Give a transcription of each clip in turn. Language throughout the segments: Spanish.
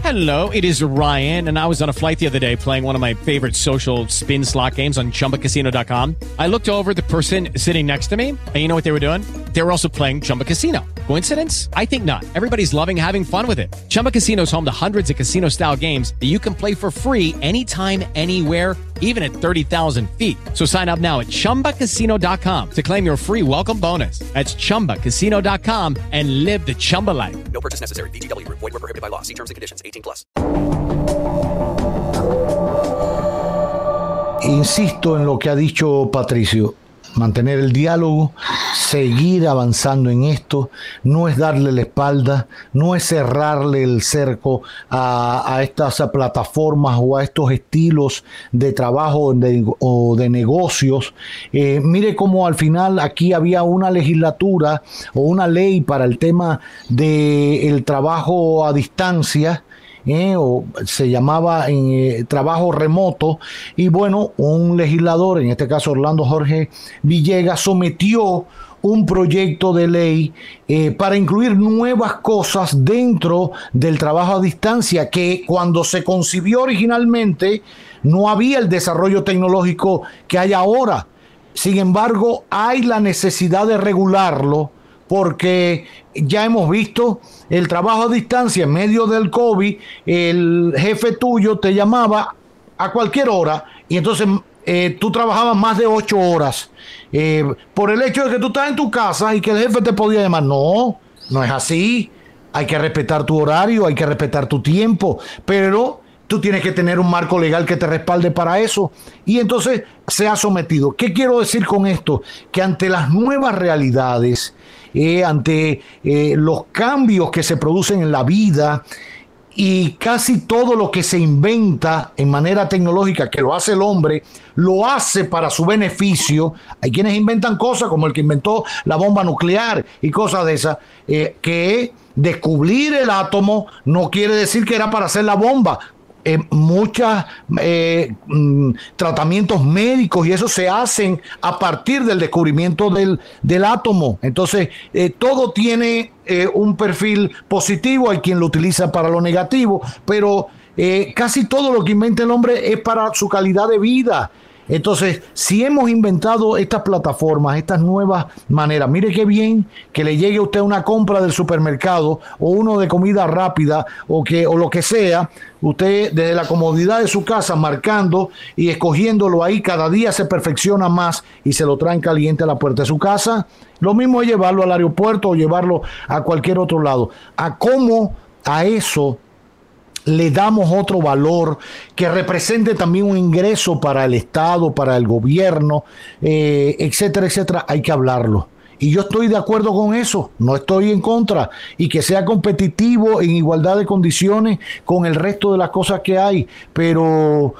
Hello, it is Ryan, and I was on a flight the other day playing one of my favorite social spin slot games on ChumbaCasino.com. I looked over at the person sitting next to me, and you know what they were doing? They were also playing Chumba Casino. Coincidence? I think not. Everybody's loving having fun with it. Chumba Casino is home to hundreds of casino-style games that you can play for free anytime, anywhere, even at 30,000 feet. So sign up now at ChumbaCasino.com to claim your free welcome bonus. That's ChumbaCasino.com and live the Chumba life. No purchase necessary. VGW. Void where prohibited by law. See terms and conditions. 18+. Insisto en lo que ha dicho Patricio. Mantener el diálogo, seguir avanzando en esto, no es darle la espalda, no es cerrarle el cerco a estas plataformas o a estos estilos de trabajo o de negocios. Mire cómo al final aquí había una legislatura o una ley para el tema del trabajo a distancia, o se llamaba trabajo remoto, y bueno, un legislador, en este caso Orlando Jorge Villegas, sometió un proyecto de ley para incluir nuevas cosas dentro del trabajo a distancia, que cuando se concibió originalmente no había el desarrollo tecnológico que hay ahora. Sin embargo, hay la necesidad de regularlo, porque ya hemos visto el trabajo a distancia en medio del COVID. El jefe tuyo te llamaba a cualquier hora y entonces tú trabajabas más de 8 horas por el hecho de que tú estás en tu casa y que el jefe te podía llamar. No es así. Hay que respetar tu horario, hay que respetar tu tiempo, pero tú tienes que tener un marco legal que te respalde para eso. Y entonces se ha sometido. ¿Qué quiero decir con esto? Que ante las nuevas realidades, ante los cambios que se producen en la vida y casi todo lo que se inventa en manera tecnológica, que lo hace el hombre, lo hace para su beneficio. Hay quienes inventan cosas como el que inventó la bomba nuclear y cosas de esas, que descubrir el átomo no quiere decir que era para hacer la bomba. Muchos tratamientos médicos y eso se hacen a partir del descubrimiento del átomo. Entonces, todo tiene un perfil positivo, hay quien lo utiliza para lo negativo, pero casi todo lo que inventa el hombre es para su calidad de vida. Entonces, si hemos inventado estas plataformas, estas nuevas maneras, mire qué bien que le llegue a usted una compra del supermercado o uno de comida rápida o lo que sea, usted desde la comodidad de su casa marcando y escogiéndolo ahí, cada día se perfecciona más y se lo traen caliente a la puerta de su casa. Lo mismo es llevarlo al aeropuerto o llevarlo a cualquier otro lado. A cómo a eso le damos otro valor que represente también un ingreso para el Estado, para el gobierno, etcétera, etcétera. Hay que hablarlo. Y yo estoy de acuerdo con eso, no estoy en contra. Y que sea competitivo en igualdad de condiciones con el resto de las cosas que hay. Pero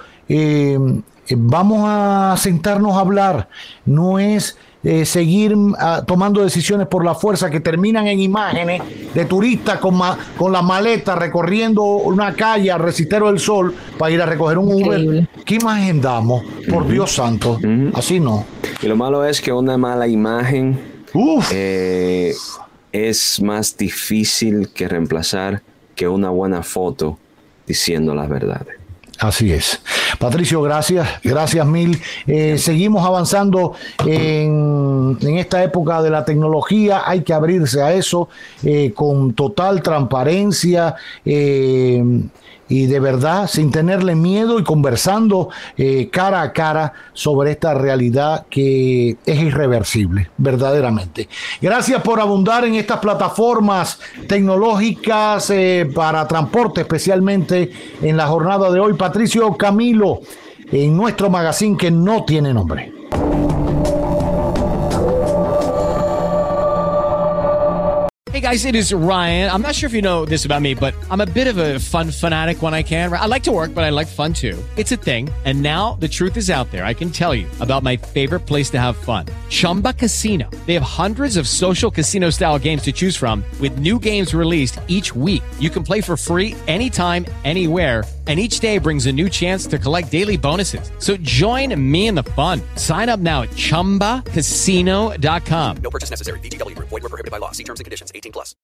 vamos a sentarnos a hablar. No es seguir tomando decisiones por la fuerza que terminan en imágenes de turistas con la maleta recorriendo una calle al Resistero del Sol para ir a recoger un Uber. ¿Qué imagen damos? Por Dios santo. Así no. Y lo malo es que una mala imagen es más difícil que reemplazar que una buena foto diciendo las verdades. Así es. Patricio, gracias mil. Seguimos avanzando en esta época de la tecnología. Hay que abrirse a eso con total transparencia y de verdad sin tenerle miedo y conversando cara a cara sobre esta realidad que es irreversible, verdaderamente. Gracias por abundar en estas plataformas tecnológicas para transporte, especialmente en la jornada de hoy. Patricio Camilo, en nuestro magazine que no tiene nombre. Hey guys, it is Ryan. I'm not sure if you know this about me, but I'm a bit of a fun fanatic when I can. I like to work, but I like fun too. It's a thing. And now the truth is out there. I can tell you about my favorite place to have fun. Chumba Casino. They have hundreds of social casino style games to choose from with new games released each week. You can play for free anytime, anywhere. And each day brings a new chance to collect daily bonuses. So join me in the fun. Sign up now at ChumbaCasino.com. No purchase necessary. VGW. Void where prohibited by law. See terms and conditions. 18+.